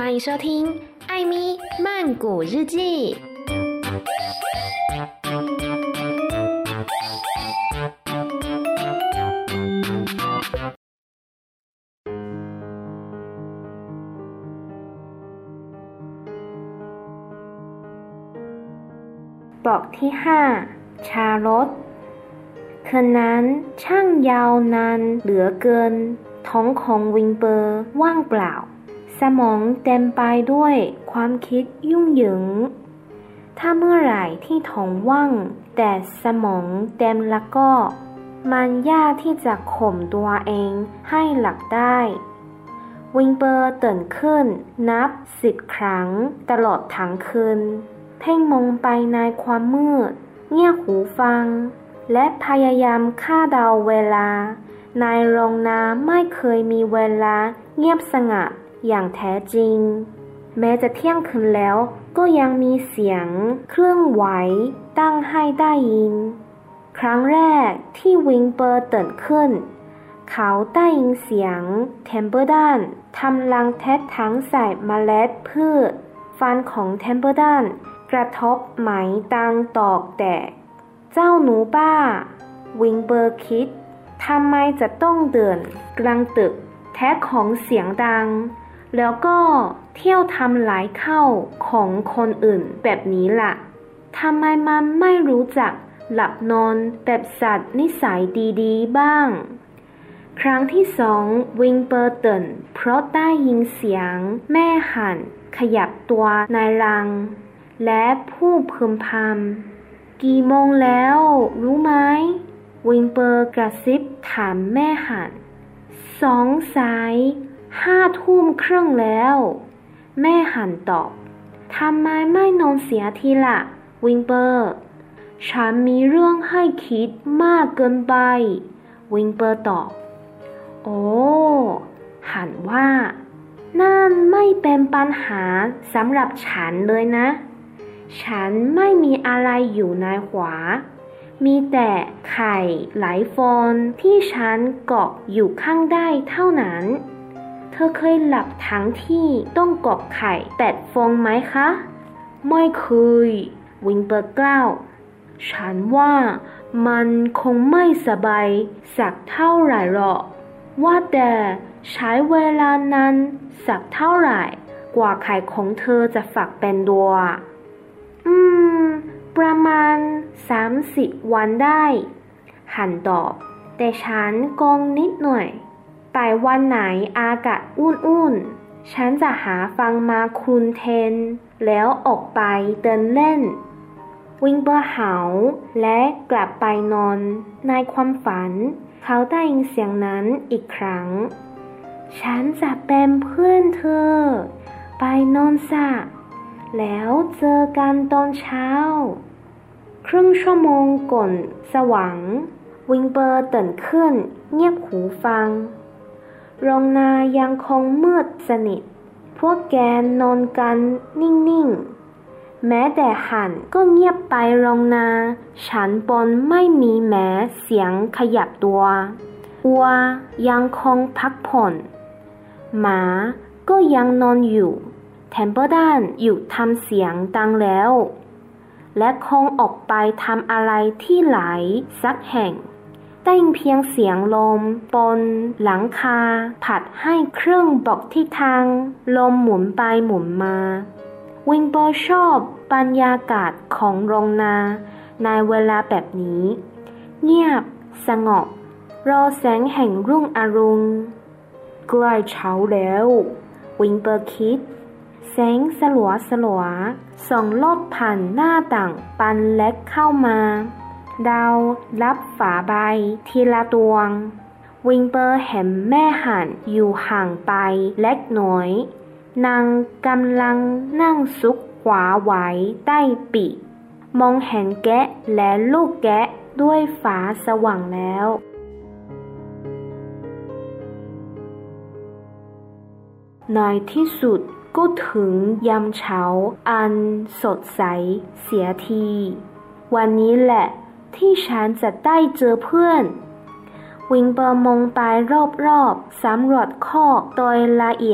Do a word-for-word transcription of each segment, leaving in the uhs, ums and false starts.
歡迎收聽艾咪曼谷日記。 บอกที่ห้าชารสคืนนั้นช่างยาวนานเหลือเกินท้องของวิงเปอร์ว่างเปล่าสมองเต็มไปด้วยความคิดยุ่งเหยิงถ้าเมื่อไหร่ที่ท้องว่างแต่สมองเต็มแล้วก็มันยากที่จะข่มตัวเองให้หลับได้วิงเปอร์ตื่นขึ้นนับสิบครั้งตลอดทั้งคืนเพ่งมองไปในความมืดเงี่ยหูฟังและพยายามคาดเดาเวลาในโรงน้ำไม่เคยมีเวลาเงียบสงัดอย่างแท้จริงแม้จะเที่ยงคืนแล้วก็ยังมีเสียงเครื่องไหวตั้งให้ได้ยินครั้งแรกที่วิงเปอร์ตื่นขึ้นเขาได้ยินเสียงเทมเปอร์ดันทำรังแทะทั้งใส่เมล็ดพืชฟันของเทมเปอร์ดันกระทบไหมตังตอกแตกเจ้าหนูบ้าวิงเปอร์คิดทำไมจะต้องเดินกลางตึกแท้ของเสียงดังแล้วก็เที่ยวทำลายข้าวของคนอื่นแบบนี้ล่ะทำไมมันไม่รู้จักหลับนอนแบบสัตว์นิสัยดีๆบ้างครั้งที่สองวิงเปอร์ตื่นเพราะได้ยินเสียงแม่หันขยับตัวในรังและผู้พึมพำกี่โมงแล้วรู้ไหมวิงเปอร์กระซิบถามแม่หันสองสายห้าทุ่มครึ่งแล้วแม่หันตอบทำไมไม่นอนเสียทีละวิงเปอร์ฉันมีเรื่องให้คิดมากเกินไปวิงเปอร์ตอบโอ้หันว่านั่นไม่เป็นปัญหาสำหรับฉันเลยนะฉันไม่มีอะไรอยู่ในหัวมีแต่ไข่หลายฟองที่ฉันเกาะอยู่ข้างได้เท่านั้นเธอเคยหลับทั้งที่ต้องเกาะไข่แปดฟองไหมคะไม่เคยวิงเปอร์กล่าวฉันว่ามันคงไม่สบายสักเท่าไหร่หรอกว่าแต่ใช้เวลานานสักเท่าไหร่กว่าไข่ของเธอจะฝักเป็นตัวอืมประมาณสามสิบวันได้หันตอบแต่ฉันกงนิดหน่อยไปวันไหนอากาศอุ่นๆฉันจะหาฟังมาคลุนเทนแล้วออกไปเดินเล่นวิงเปอร์เห่าและกลับไปนอนในความฝันเขาได้ยินเสียงนั้นอีกครั้งฉันจะเป็นเพื่อนเธอไปนอนซะแล้วเจอกันตอนเช้าครึ่งชั่วโมงก่อนสว่างวิงเปอร์ตื่นขึ้นเงียบหูฟังโรงนายังคงมืดสนิทพวกแกนอนกันนิ่งๆแม้แต่หันก็เงียบไปโรงนาฉันบนไม่มีแม้เสียงขยับตัววัวยังคงพักผ่อนหมาก็ยังนอนอยู่เทมเปอร์ดันหยุดทำเสียงดังแล้วและคงออกไปทำอะไรที่ไหนสักแห่งได้ยินเพียงเสียงลมบนหลังคาผัดให้เครื่องบอกทิศทางลมหมุนไปหมุนมาวิงเปอร์ชอบบรรยากาศของโรงนาในเวลาแบบนี้เงียบสงบรอแสงแห่งรุ่งอรุณใกล้เช้าแล้ววิงเปอร์คิดแสงสลัวสลัวส่องลอดผ่านหน้าต่างบานเล็กเข้ามาดาวรับฝาใบทีละดวงวิงเปอร์เห็นแม่หันอยู่ห่างไปเล็กน้อยนางกำลังนั่งซุกหัวไว้ใต้ปีกมองเห็นแกะและลูกแกะด้วยฟ้าสว่างแล้วในที่สุดก็ถึงยามเช้าอันสดใสเสียทีวันนี้แหละที่ฉันจะได้เจอเพื่อนวิงเปอร์มองไปรอบๆสำรวจคอกโดยละเอียด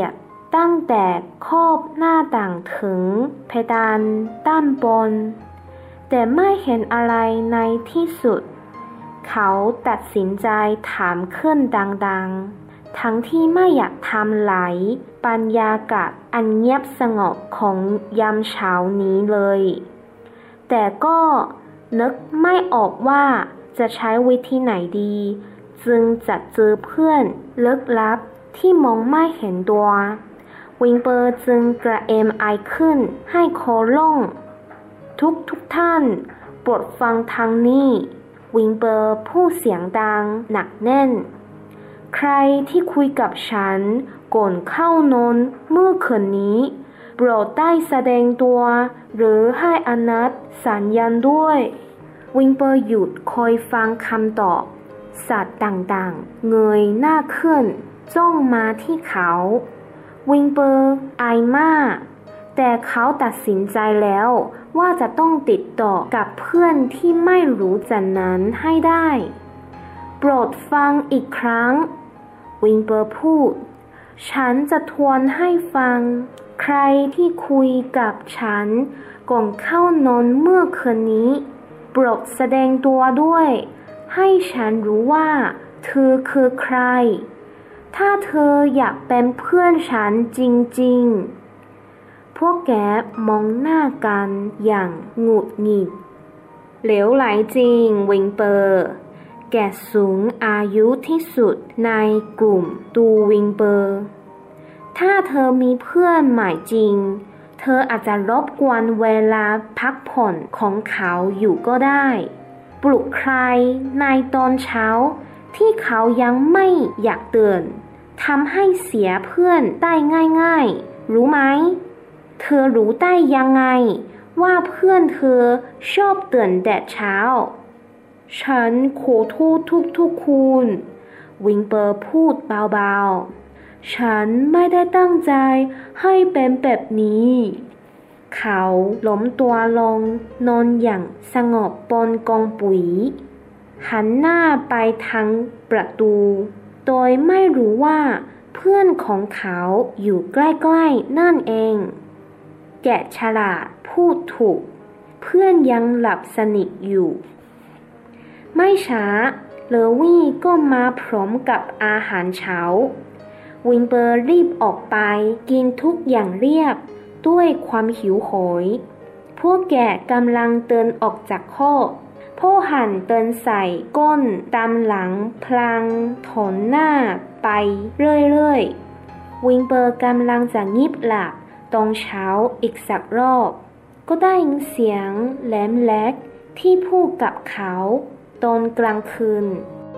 ตั้งแต่ขอบหน้าต่างถึงเพดานด้านบนแต่ไม่เห็นอะไรในที่สุดเขาตัดสินใจถามขึ้นดังๆทั้งที่ไม่อยากทำลายบรรยากาศอันเงียบสงบของยามเช้านี้เลยแต่ก็นึกไม่ออกว่าจะใช้วิธีไหนดีจึงจะเจอเพื่อนลึกลับที่มองไม่เห็นตัววิงเปอร์จึงกระเอมไอขึ้นให้คอล่งทุกทุกท่านโปรดฟังทางนี้วิงเปอร์พูดเสียงดังหนักแน่นใครที่คุยกับฉันก่อนเข้านอนเมื่อคืนนี้โปรดได้แสดงตัวหรือให้อนัตสัญญาณด้วยวิงเปอร์หยุดคอยฟังคำตอบสัตว์ต่างๆเงยหน้าขึ้นจ้องมาที่เขาวิงเปอร์อายมากแต่เขาตัดสินใจแล้วว่าจะต้องติดต่อกับเพื่อนที่ไม่รู้จักนั้นให้ได้โปรดฟังอีกครั้งวิงเปอร์พูดฉันจะทวนให้ฟังใครที่คุยกับฉันก่อนเข้านอนเมื่อคืนนี้โปรดแสดงตัวด้วยให้ฉันรู้ว่าเธอคือใครถ้าเธออยากเป็นเพื่อนฉันจริงๆพวกแกมองหน้ากันอย่างหงุดหงิดเหลวไหลจริงวิงเปอร์แกสูงอายุที่สุดในกลุ่มตูวิงเปอร์ถ้าเธอมีเพื่อนใหม่จริงเธออาจจะรบกวนเวลาพักผ่อนของเขาอยู่ก็ได้ปลุกใครในตอนเช้าที่เขายังไม่อยากตื่นทำให้เสียเพื่อนได้ง่ายๆรู้ไหมเธอรู้ได้ยังไงว่าเพื่อนเธอชอบตื่นแต่เช้าฉันขอโทษทุกๆคนวิงเปอร์พูดเบาๆฉันไม่ได้ตั้งใจให้เป็นแบบนี้เขาล้มตัวลงนอนอย่างสงบบนกองปุ๋ยหันหน้าไปทางประตูโดยไม่รู้ว่าเพื่อนของเขาอยู่ใกล้ๆนั่นเองแกะฉลาดพูดถูกเพื่อนยังหลับสนิทอยู่ไม่ช้าเลวี่ก็มาพร้อมกับอาหารเช้าวิงเปอร์รีบออกไปกินทุกอย่างเรียบด้วยความหิวโหยพวกแกะกำลังเดินออกจากคอกพ่อหันเดินใส่ก้นตามหลังพลางถอนหน้าไปเรื่อยๆวิงเปอร์กำลังจะงีบหลับตอนเช้าอีกสักรอบก็ได้ยินเสียงแหลมแหลกที่พูดกับเขาตอนกลางคืน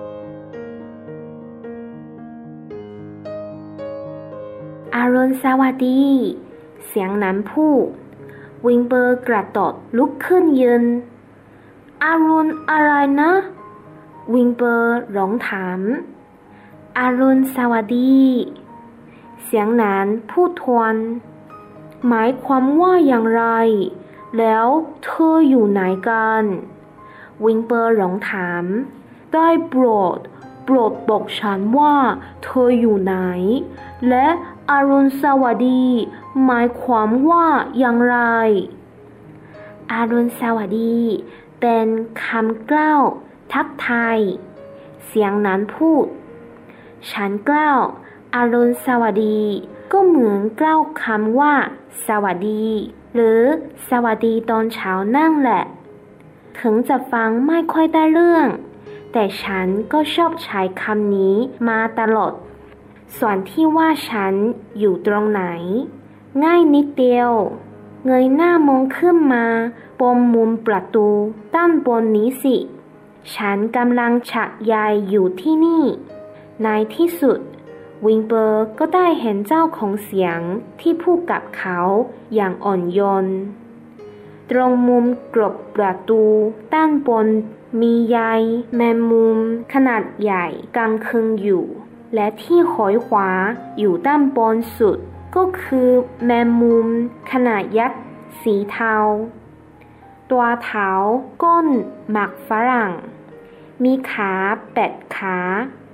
อรุณสวัสดีเสียงนั้นพูดวิงเปอร์กระโดดลุกขึ้นยืนอรุณอะไรนะวิงเปอร์ร้องถามอรุณสวัสดีเสียงนั้นพูดทวนหมายความว่าอย่างไรแล้วเธออยู่ไหนกันวิงเปอร์ร้องถามได้โปรดโปรดบอกฉันว่าเธออยู่ไหนและอรุณสวัสดีหมายความว่าอย่างไรอรุณสวัสดีเป็นคำกล่าวทักทายเสียงนั้นพูดฉันกล่าวอรุณสวัสดีก็เหมือนกล่าวคำว่าสวัสดีหรือสวัสดีตอนเช้านั่นแหละถึงจะฟังไม่ค่อยได้เรื่องแต่ฉันก็ชอบใช้คำนี้มาตลอดส่วนที่ว่าฉันอยู่ตรงไหนง่ายนิดเดียวเงยหน้ามองขึ้นมาบนมุมประตูด้านบนนี้สิฉันกำลังฉักใยอยู่ที่นี่ในที่สุดวิงเปอร์ก็ได้เห็นเจ้าของเสียงที่พูดกับเขาอย่างอ่อนโยนตรงมุมกรบประตูด้านบนมีใยแมงมุมขนาดใหญ่กางคึงอยู่และที่หอยขวาอยู่ด้านบนสุดก็คือแมงมุมขนาดยักษ์สีเทาตัวเท้าก้นหมักฝรั่งมีขาแปดขา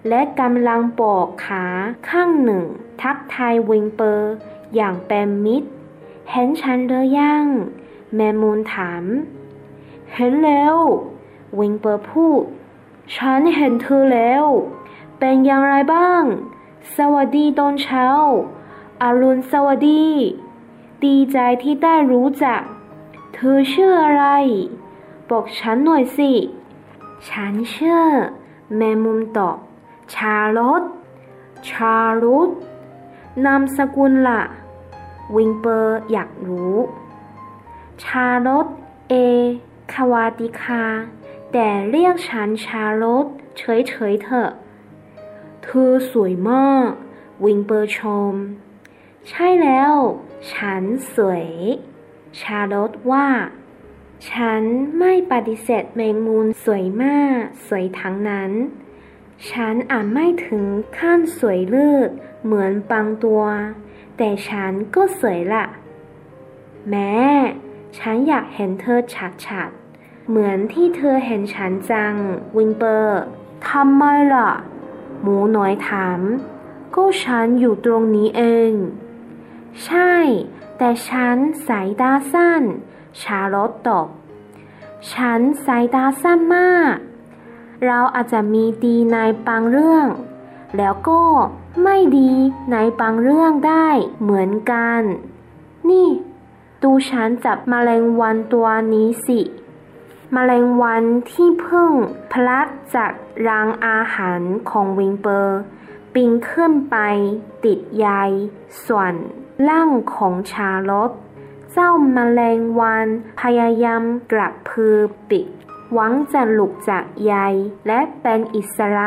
และกำลังปอกขาข้างหนึ่งทักทายวิงเปอร์อย่างเป็นมิตรเห็นฉันหรือยังแมมูนถามเห็นแล้ววิงเปอร์พูดฉันเห็นเธอแล้วเป็นอย่างไรบ้างสวัสดีตอนเช้าอรุณสวัสดีดีใจที่ได้รู้จักเธอชื่ออะไรบอกฉันหน่อยสิฉันชื่อแมมูนตอบชาร์ลอตชาร์ลอตนามสกุลล่ะวิงเปอร์อยากรู้ชาร์ลอตเอคาวาติคาแต่เรียกฉันชาร์ลอตเฉยๆเถอะเธอสวยมากวิงเปอร์ชมใช่แล้วฉันสวยชาร์ลอตว่าฉันไม่ปฏิเสธแมงมุมสวยมากสวยทั้งนั้นฉันอาจไม่ถึงขั้นสวยเลิศเหมือนบางตัวแต่ฉันก็สวยละแม้ฉันอยากเห็นเธอชัดๆเหมือนที่เธอเห็นฉันจังวิงเปอร์ทำไมล่ะหมูน้อยถามก็ฉันอยู่ตรงนี้เองใช่แต่ฉันสายตาสั้นชาร์ลอตตอบฉันสายตาสั้นมากเราอาจจะมีดีในบางเรื่องแล้วก็ไม่ดีในบางเรื่องได้เหมือนกันนี่ดูฉันจับแมลงวันตัวนี้สิแมลงวันที่เพิ่งพลัดจากรังอาหารของวิงเปอร์ปีนขึ้นไปติดใยส่วนล่างของชาร์ลอตเจ้าแมลงวันพยายามกระพือปีกหวังจะหลุดจากใยและเป็นอิสระ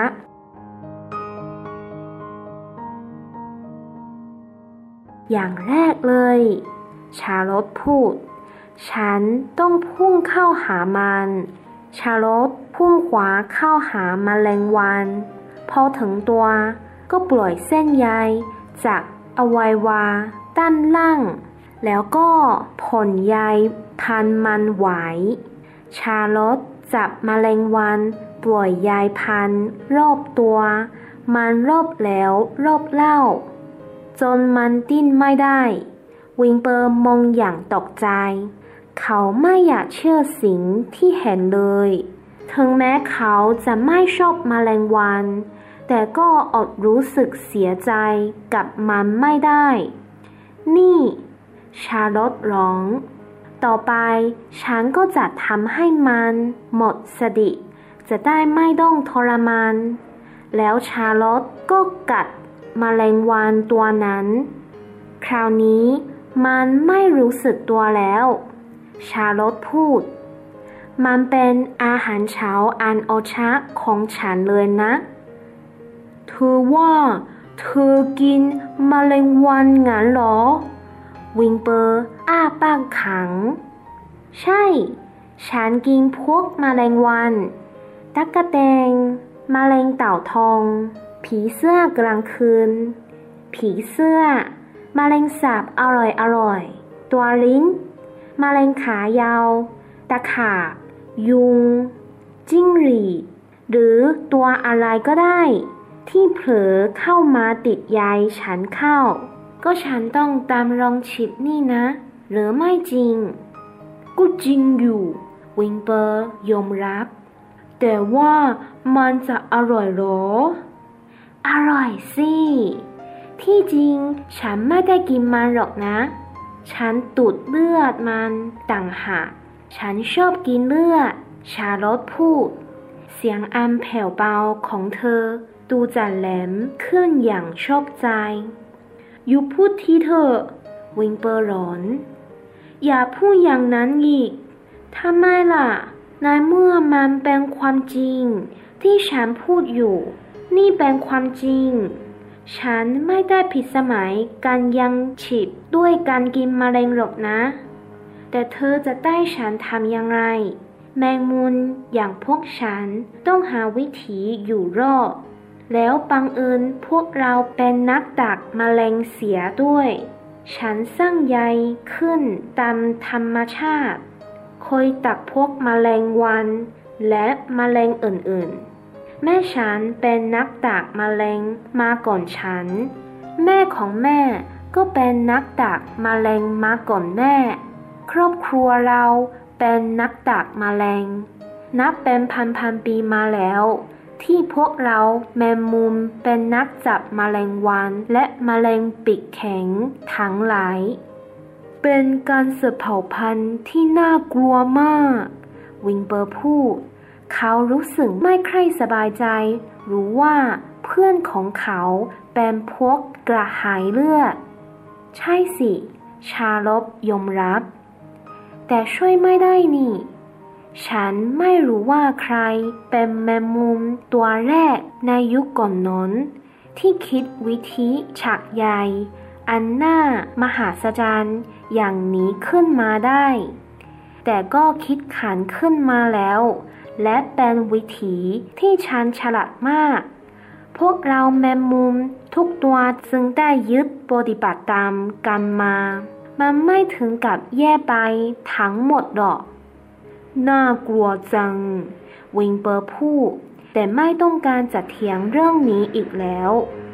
อย่างแรกเลยชาร์ลอตพูดฉันต้องพุ่งเข้าหามันชาร์ลอตพุ่งขวาเข้าหาแมลงวันพอถึงตัวก็ปล่อยเส้นใยจากอวัยวะด้านล่างแล้วก็พ่นใยพันมันไว้ชาร์ลอตจับแมลงวันปล่อยใยพันรอบตัวมันรอบแล้วรอบเล่าจนมันดิ้นไม่ได้วิงเปอร์มองอย่างตกใจเขาไม่อยากเชื่อสิ่งที่เห็นเลยถึงแม้เขาจะไม่ชอบแมลงวันแต่ก็อดรู้สึกเสียใจกับมันไม่ได้นี่ชาร์ลอตร้องต่อไปฉันก็จะทำให้มันหมดสติจะได้ไม่ต้องทรมานแล้วชาร์ลอตก็กัดแมลงวันตัวนั้นคราวนี้มันไม่รู้สึกตัวแล้วชาร์ลอตพูดมันเป็นอาหารเช้าอันโอชะของฉันเลยนะเธอว่าเธอกินแมลงวันงั้นเหรอวิงเปอร์อ้าปากขังใช่ฉันกินพวกแมลงวันตั๊กแตนแมลงเต่าทองผีเสื้อกลางคืนผีเสื้อแมลงสาบอร่อยอร่อยตัวลิ้นแมลงขายาวตะขาบยุงจิ้งหรีดหรือตัวอะไรก็ได้ที่เผลอเข้ามาติดใยฉันเข้าก็ฉันต้องตามลองชิดนี่นะหรือไม่จริงก็จริงอยู่วิงเปอร์ยอมรับแต่ว่ามันจะอร่อยหรออร่อยสิที่จริงฉันไม่ได้กินมันหรอกนะฉันตูดเลือดมันต่างหากฉันชอบกินเลือดชาร์ลอตพูดเสียงอันแผ่วเบาของเธอดูจะแหลมขึ้นอย่างชอบใจอยู่พูดทีเถอะวิงเปอร์ร้อนอย่าพูดอย่างนั้นอีกทำไมล่ะในเมื่อมันเป็นความจริงที่ฉันพูดอยู่นี่เป็นความจริงฉันไม่ได้ผิดสมัยการยังฉีดด้วยการกินแมลงหรอกนะแต่เธอจะได้ฉันทำอย่างไรแมงมุมอย่างพวกฉันต้องหาวิธีอยู่รอดแล้วบังเอิญพวกเราเป็นนักดักแมลงเสียด้วยฉันสร้างใยขึ้นตามธรรมชาติคอยตักพวกแมลงวันและแมลงอื่นๆแม่ฉันเป็นนักดักแมลงมาก่อนฉันแม่ของแม่ก็เป็นนักดักแมลงมาก่อนแม่ครอบครัวเราเป็นนักดักแมลงนับเป็นพันๆปีมาแล้วที่พวกเราแมงมุมเป็นนักจับแมลงวันและแมลงปีกแข็งทั้งหลายเป็นการสืบเผ่าพันธุ์ที่น่ากลัวมากวิงเปอร์พูดเขารู้สึกไม่ค่อยสบายใจรู้ว่าเพื่อนของเขาเป็นพวกกระหายเลือดใช่สิชาลอตยอมรับแต่ช่วยไม่ได้นี่ฉันไม่รู้ว่าใครเป็นแมงมุมตัวแรกในยุคก่อนนั้นที่คิดวิธีฉากใหญ่อันน่ามหัศจรรย์อย่างนี้ขึ้นมาได้แต่ก็คิดขันขึ้นมาแล้วและเป็นวิธีที่ฉันฉลาดมากพวกเราแมงมุมทุกตัวจึงได้ยึดปฏิบัติตามกันมามันไม่ถึงกับแย่ไปทั้งหมดหรอกน่ากลัวจังวิงเปอร์พูดแต่ไม่ต้องการจะเถียงเรื่องนี้อีกแล้ว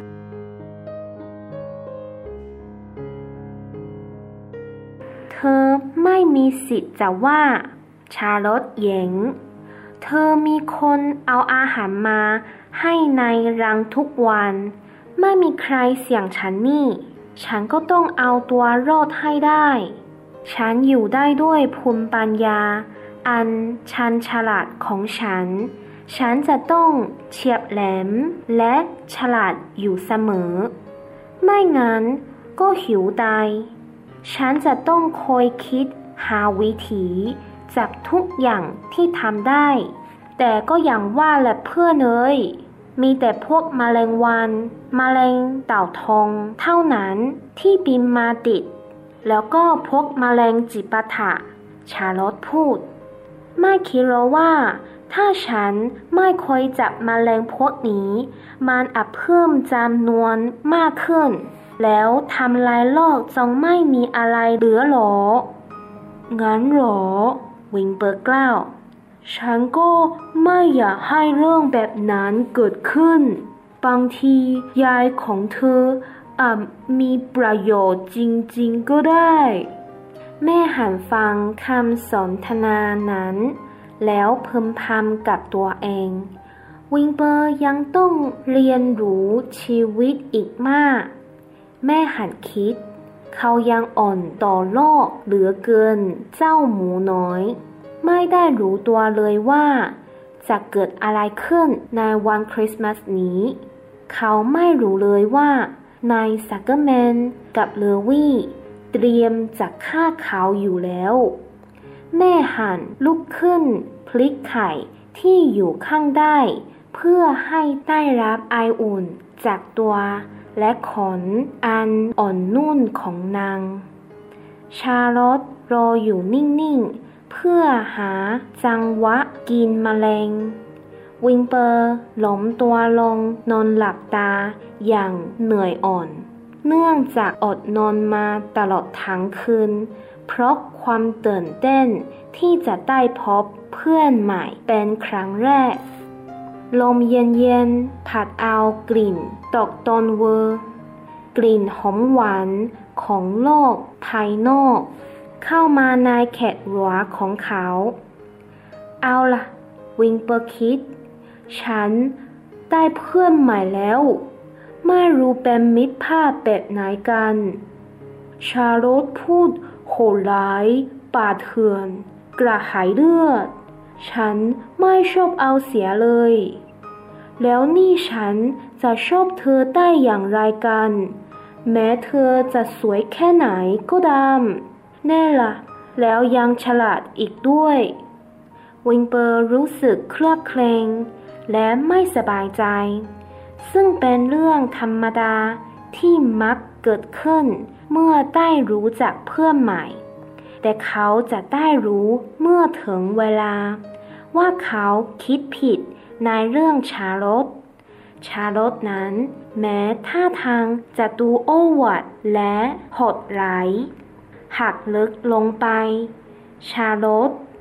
เธอไม่มีสิทธิ์จะว่าชาลอตแย้งเธอมีคนเอาอาหารมาให้ในรังทุกวันไม่มีใครเสี่ยงฉันนี่ฉันก็ต้องเอาตัวรอดให้ได้ฉันอยู่ได้ด้วยภูมิปัญญาอันชันฉลาดของฉันฉันจะต้องเฉียบแหลมและฉลาดอยู่เสมอไม่งั้นก็หิวตายฉันจะต้องคอยคิดหาวิธีจากทุกอย่างที่ทำได้แต่ก็อย่างว่าแหละเพื่อนเอ้ยมีแต่พวกแมลงวันแมลงเต่าทองเท่านั้นที่บินมาติดแล้วก็พวกแมลงจิปาถะชาลอตพูดไม่คิดหรอว่าถ้าฉันไม่คอยจับแมลงพวกนี้มันอาจเพิ่มจำนวนมากขึ้นแล้วทำลายโลกจงไม่มีอะไรเหลือหรองั้นหรอวิงเปอร์กล่าวฉันก็ไม่อยากให้เรื่องแบบนั้นเกิดขึ้นบางทียายของเธออาจมีประโยชน์จริงๆก็ได้แม่หันฟังคำสนทนานั้นแล้วพึมพำกับตัวเองวิงเปอร์ยังต้องเรียนรู้ชีวิตอีกมากแม่หันคิดเขายังอ่อนต่อโลกเหลือเกินเจ้าหมูน้อยไม่ได้รู้ตัวเลยว่าจะเกิดอะไรขึ้นในวันคริสต์มาสนี้เขาไม่รู้เลยว่านายซักเกอร์แมนกับเลวี่เตรียมจะฆ่าเขาอยู่แล้วแม่หันลุกขึ้นพลิกไข่ที่อยู่ข้างได้เพื่อให้ได้รับไออุ่นจากตัวและขนอันอ่อนนุ่มของนางชาลอตรออยู่นิ่งๆเพื่อหาจังหวะกินแมลงวิงเปอร์ล้มตัวลงนอนหลับตาอย่างเหนื่อยอ่อนเนื่องจากอดนอนมาตลอดทั้งคืนเพราะความตื่นเต้นที่จะได้พบเพื่อนใหม่เป็นครั้งแรกลมเย็นๆพัดเอากลิ่นตกต้นเวอร์กลิ่นหอมหวานของโลกภายนอกเข้ามาในแขนหัวของเขาเอาล่ะวิงเปอร์คิดฉันได้เพื่อนใหม่แล้วไม่รู้เป็นมิตรภาพแบบไหนกันชาลอตพูดโหดร้ายป่าเถื่อนกระหายเลือดฉันไม่ชอบเอาเสียเลยแล้วนี่ฉันจะชอบเธอได้อย่างไรกันแม้เธอจะสวยแค่ไหนก็ตามแน่ล่ะแล้วยังฉลาดอีกด้วยวิงเปอร์รู้สึกเคลือบแคลงและไม่สบายใจซึ่งเป็นเรื่องธรรมดาที่มักเกิดขึ้นเมื่อได้รู้จักเพื่อนใหม่แต่เขาจะได้รู้เมื่อถึงเวลาว่าเขาคิดผิดในเรื่องชาลอตชาลอตนั้นแม้ท่าทางจะดูโอ้อวดและโหดร้ายหักลึกลงไปชาลอต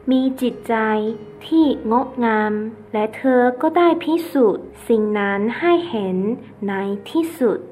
มีจิตใจที่งดงามและเธอก็ได้พิสูจน์สิ่งนั้นให้เห็นในที่สุด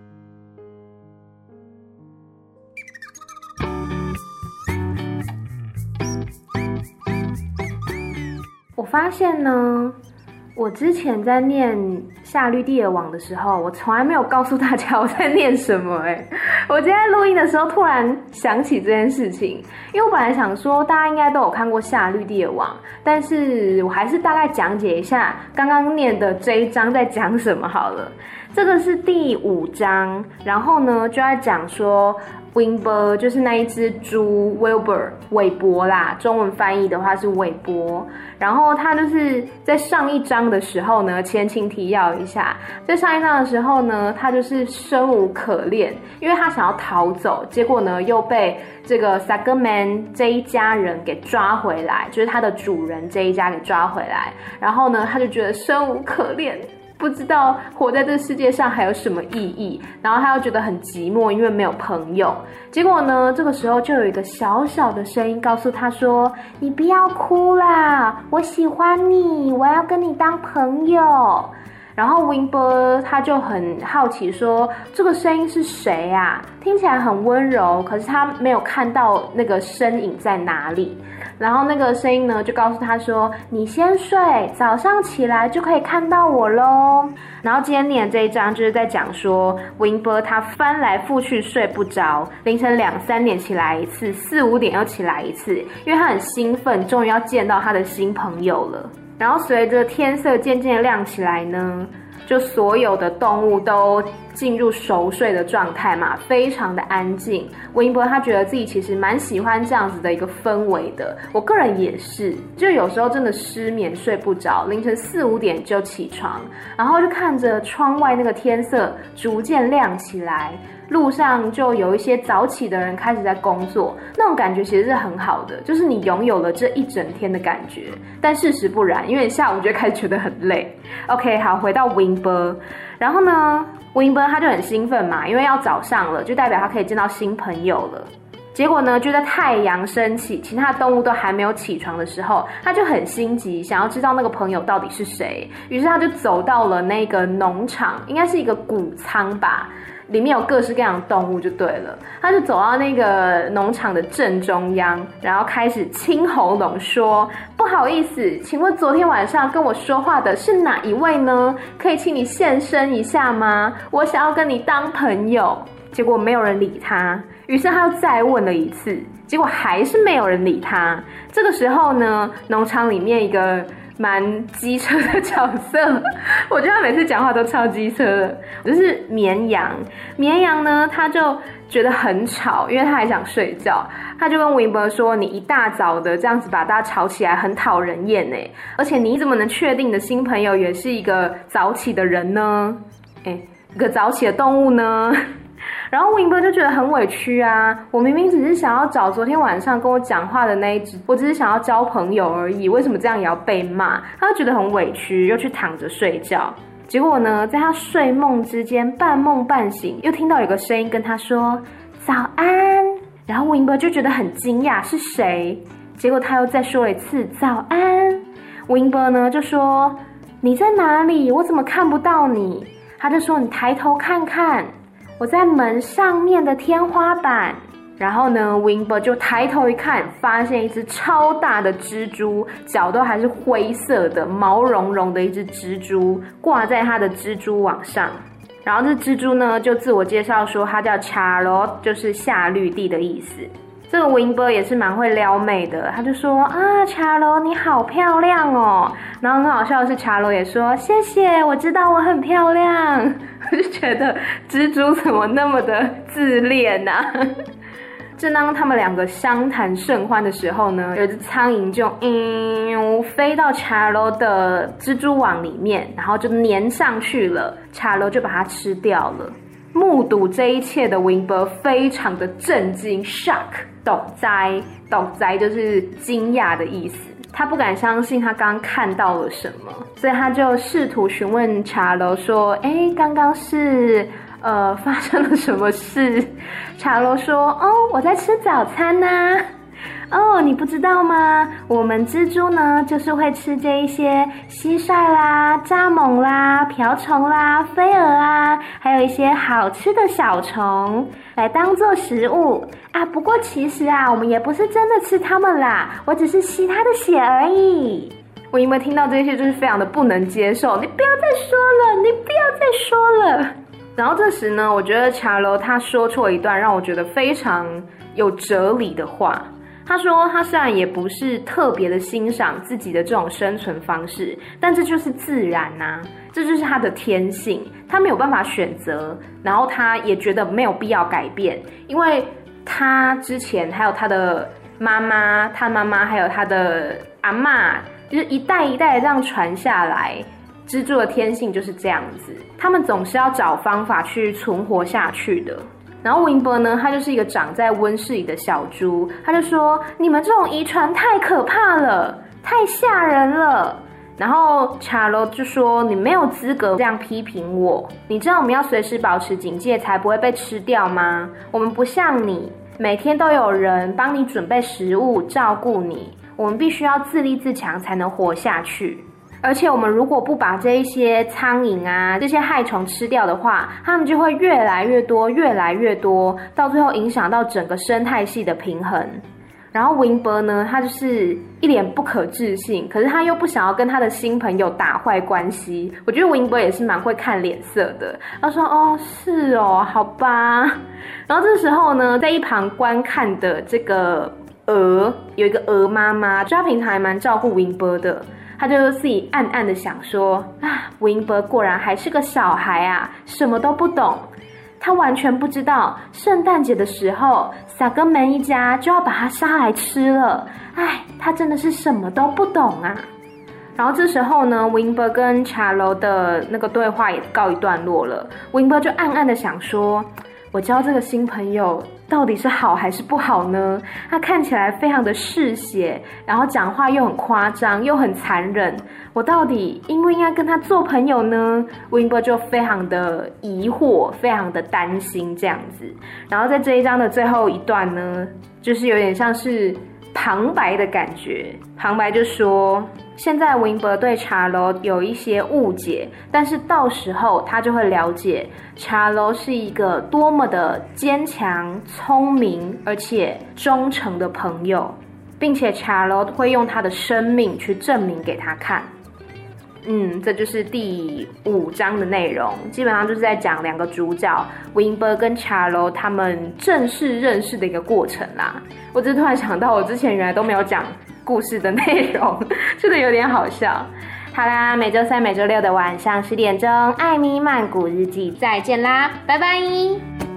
我发现呢我之前在念夏綠蒂爾網的時候，我從來沒有告訴大家我在念什麼欸。我今天錄音的時候突然想起這件事情，因為我本來想說大家應該都有看過夏綠蒂爾網，但是我還是大概講解一下剛剛念的這一章在講什麼好了。這個是第五章，然後呢就在講說Wilbur 就是那一隻豬 Wilbur 韋伯啦，中文翻譯的話是韋伯。然後他就是在上一章的時候呢，前情提要一下，在上一章的時候呢，他就是生無可戀，因為他想要逃走，結果呢又被這個 Sagaman 這一家人給抓回來，就是他的主人這一家給抓回來，然後呢他就覺得生無可戀。不知道活在這世界上還有什麼意義，然後他又覺得很寂寞，因為沒有朋友。結果呢，這個時候就有一個小小的聲音告訴他說：“你不要哭啦，我喜歡你，我要跟你當朋友。”然後 Wilbur 他就很好奇說：“這個聲音是誰啊？聽起來很溫柔，可是他沒有看到那個身影在哪裡。”然後那個聲音呢就告訴他說：“你先睡，早上起來就可以看到我咯。”然後今天念的這一章就是在講說 Wilbur 他翻來覆去睡不着，凌晨兩三點起來一次，四五點又起來一次，因為他很興奮，終於要見到他的新朋友了。然後隨着天色漸漸亮起來呢，就所有的動物都進入熟睡的狀態嘛，非常的安靜。Wilbur他覺得自己其實蠻喜歡這樣子的一個氛圍的，我個人也是，就有時候真的失眠睡不着，凌晨四五點就起床，然後就看着窗外那個天色逐漸亮起來，路上就有一些早起的人開始在工作，那種感覺其實是很好的，就是你擁有了這一整天的感覺。但事實不然，因為你下午就開始覺得很累。OK， 好，回到 Wilbur， 然後呢 Wilbur 他就很興奮嘛，因為要早上了，就代表他可以見到新朋友了。結果呢，就在太陽升起，其他動物都還沒有起床的時候，他就很心急，想要知道那個朋友到底是誰。於是他就走到了那個農場，應該是一個穀倉吧，裡面有各式各樣的動物就對了。他就走到那個農場的正中央，然後開始清喉嚨說：“不好意思，請問昨天晚上跟我說話的是哪一位呢？可以請你現身一下嗎？我想要跟你當朋友。”結果沒有人理他，於是他又再問了一次，結果還是沒有人理他。這個時候呢，農場裡面一個蠻機車的角色，我覺得他每次講話都超機車的，就是綿羊。綿羊呢，他就覺得很吵，因為他還想睡覺，他就跟 Wilbur 說：“你一大早的這樣子把大家吵起來，很討人厭耶，而且你怎麼能確定你的新朋友也是一個早起的人呢？誒，一個早起的動物呢？”然後 Wilbur 就覺得很委屈啊，我明明只是想要找昨天晚上跟我講話的那一隻，我只是想要交朋友而已，為什麼這樣也要被罵？他就覺得很委屈，又去躺着睡覺。結果呢，在他睡夢之間，半夢半醒，又聽到有個聲音跟他說早安。然後 Wilbur 就覺得很驚訝，是誰？結果他又再說了一次早安。Wilbur 呢就說：“你在哪裡？我怎麼看不到你？”他就說：“你抬頭看看。”我在門上面的天花板。然後呢 Wilbur 就抬頭一看，發現一隻超大的蜘蛛，腳都還是灰色的，毛茸茸的一隻蜘蛛掛在他的蜘蛛網上。然後這蜘蛛呢就自我介紹說它叫 Charlotte， 就是夏綠蒂的意思。這個 Wilbur 也是蠻會撩妹的，他就說啊 Charlotte 你好漂亮哦。然後很好笑的是 Charlotte 也說謝謝，我知道我很漂亮。我就覺得蜘蛛怎麼那麼的自戀啊。正當他們兩個相談甚歡的時候呢，有隻蒼蠅就嗯飛到 Charlotte 的蜘蛛網裡面，然後就粘上去了。Charlotte 就把它吃掉了。目睹這一切的 Wilbur 非常的震驚 shock 抖災抖災就是驚訝的意思，他不敢相信他剛剛看到了什麼，所以他就試圖詢問 Charlotte 說誒剛剛是呃發生了什麼事。 Charlotte 說哦我在吃早餐啊。 哦，你不知道嗎？我們蜘蛛呢，就是會吃這一些蟋蟀啦、蚱蜢啦、瓢蟲啦、飛蛾啊，還有一些好吃的小蟲，來當做食物啊。不過其實啊，我們也不是真的吃它們啦，我只是吸它的血而已。我因為聽到這些，就是非常的不能接受。你不要再說了，你不要再說了。然後這時呢，我覺得茶樓他說出了一段讓我覺得非常有哲理的話。他說他雖然也不是特別的欣賞自己的這種生存方式，但這就是自然啊，這就是他的天性，他沒有辦法選擇，然後他也覺得沒有必要改變，因為他之前還有他的媽媽，他媽媽還有他的阿嬤，就是一代一代的這樣傳下來，蜘蛛的天性就是這樣子，他們總是要找方法去存活下去的。然後溫伯呢，他就是一個長在溫室裡的小豬，他就說：“你們這種遺傳太可怕了，太嚇人了。”然後查羅就說：“你沒有資格這樣批評我，你知道我們要隨時保持警戒，才不會被吃掉嗎？我們不像你，每天都有人幫你準備食物，照顧你。我們必須要自立自強，才能活下去。”而且我們如果不把這一些蒼蠅啊，這些害蟲吃掉的話，它們就會越來越多，越來越多，到最後影響到整個生態系的平衡。然後溫伯呢，他就是一臉不可置信，可是他又不想要跟他的新朋友打壞關係。我覺得溫伯也是蠻會看臉色的。他說：“哦，是哦，好吧。”然後這時候呢，在一旁觀看的這個鵝，有一個鵝媽媽，就她平常還蠻照顧溫伯的。他就自己暗暗的想說：“啊，溫伯果然還是個小孩啊，什麼都不懂。他完全不知道聖誕節的時候，薩格門一家就要把他殺來吃了。哎，他真的是什麼都不懂啊。”然後這時候呢，溫伯跟茶樓的那個對話也告一段落了。溫伯就暗暗的想說：“我交這個新朋友到底是好還是不好呢？他看起來非常的嗜血，然後講話又很誇張，又很殘忍。我到底應不應該跟他做朋友呢？”溫伯就非常的疑惑，非常的擔心這樣子。然後在這一章的最後一段呢，就是有點像是旁白的感覺。旁白就說：“現在溫伯對茶樓有一些誤解，但是到時候他就會了解茶樓是一個多麼的堅強、聰明而且忠誠的朋友，並且茶樓會用他的生命去證明給他看。”嗯，這就是第五章的內容，基本上就是在講兩個主角溫伯跟茶樓他們正式認識的一個過程啦。我只是突然想到，我之前原來都沒有講故事的內容，真的有點好笑。好啦，每週三、每週六的晚上十點鐘，艾咪曼谷日記，再見啦，拜拜。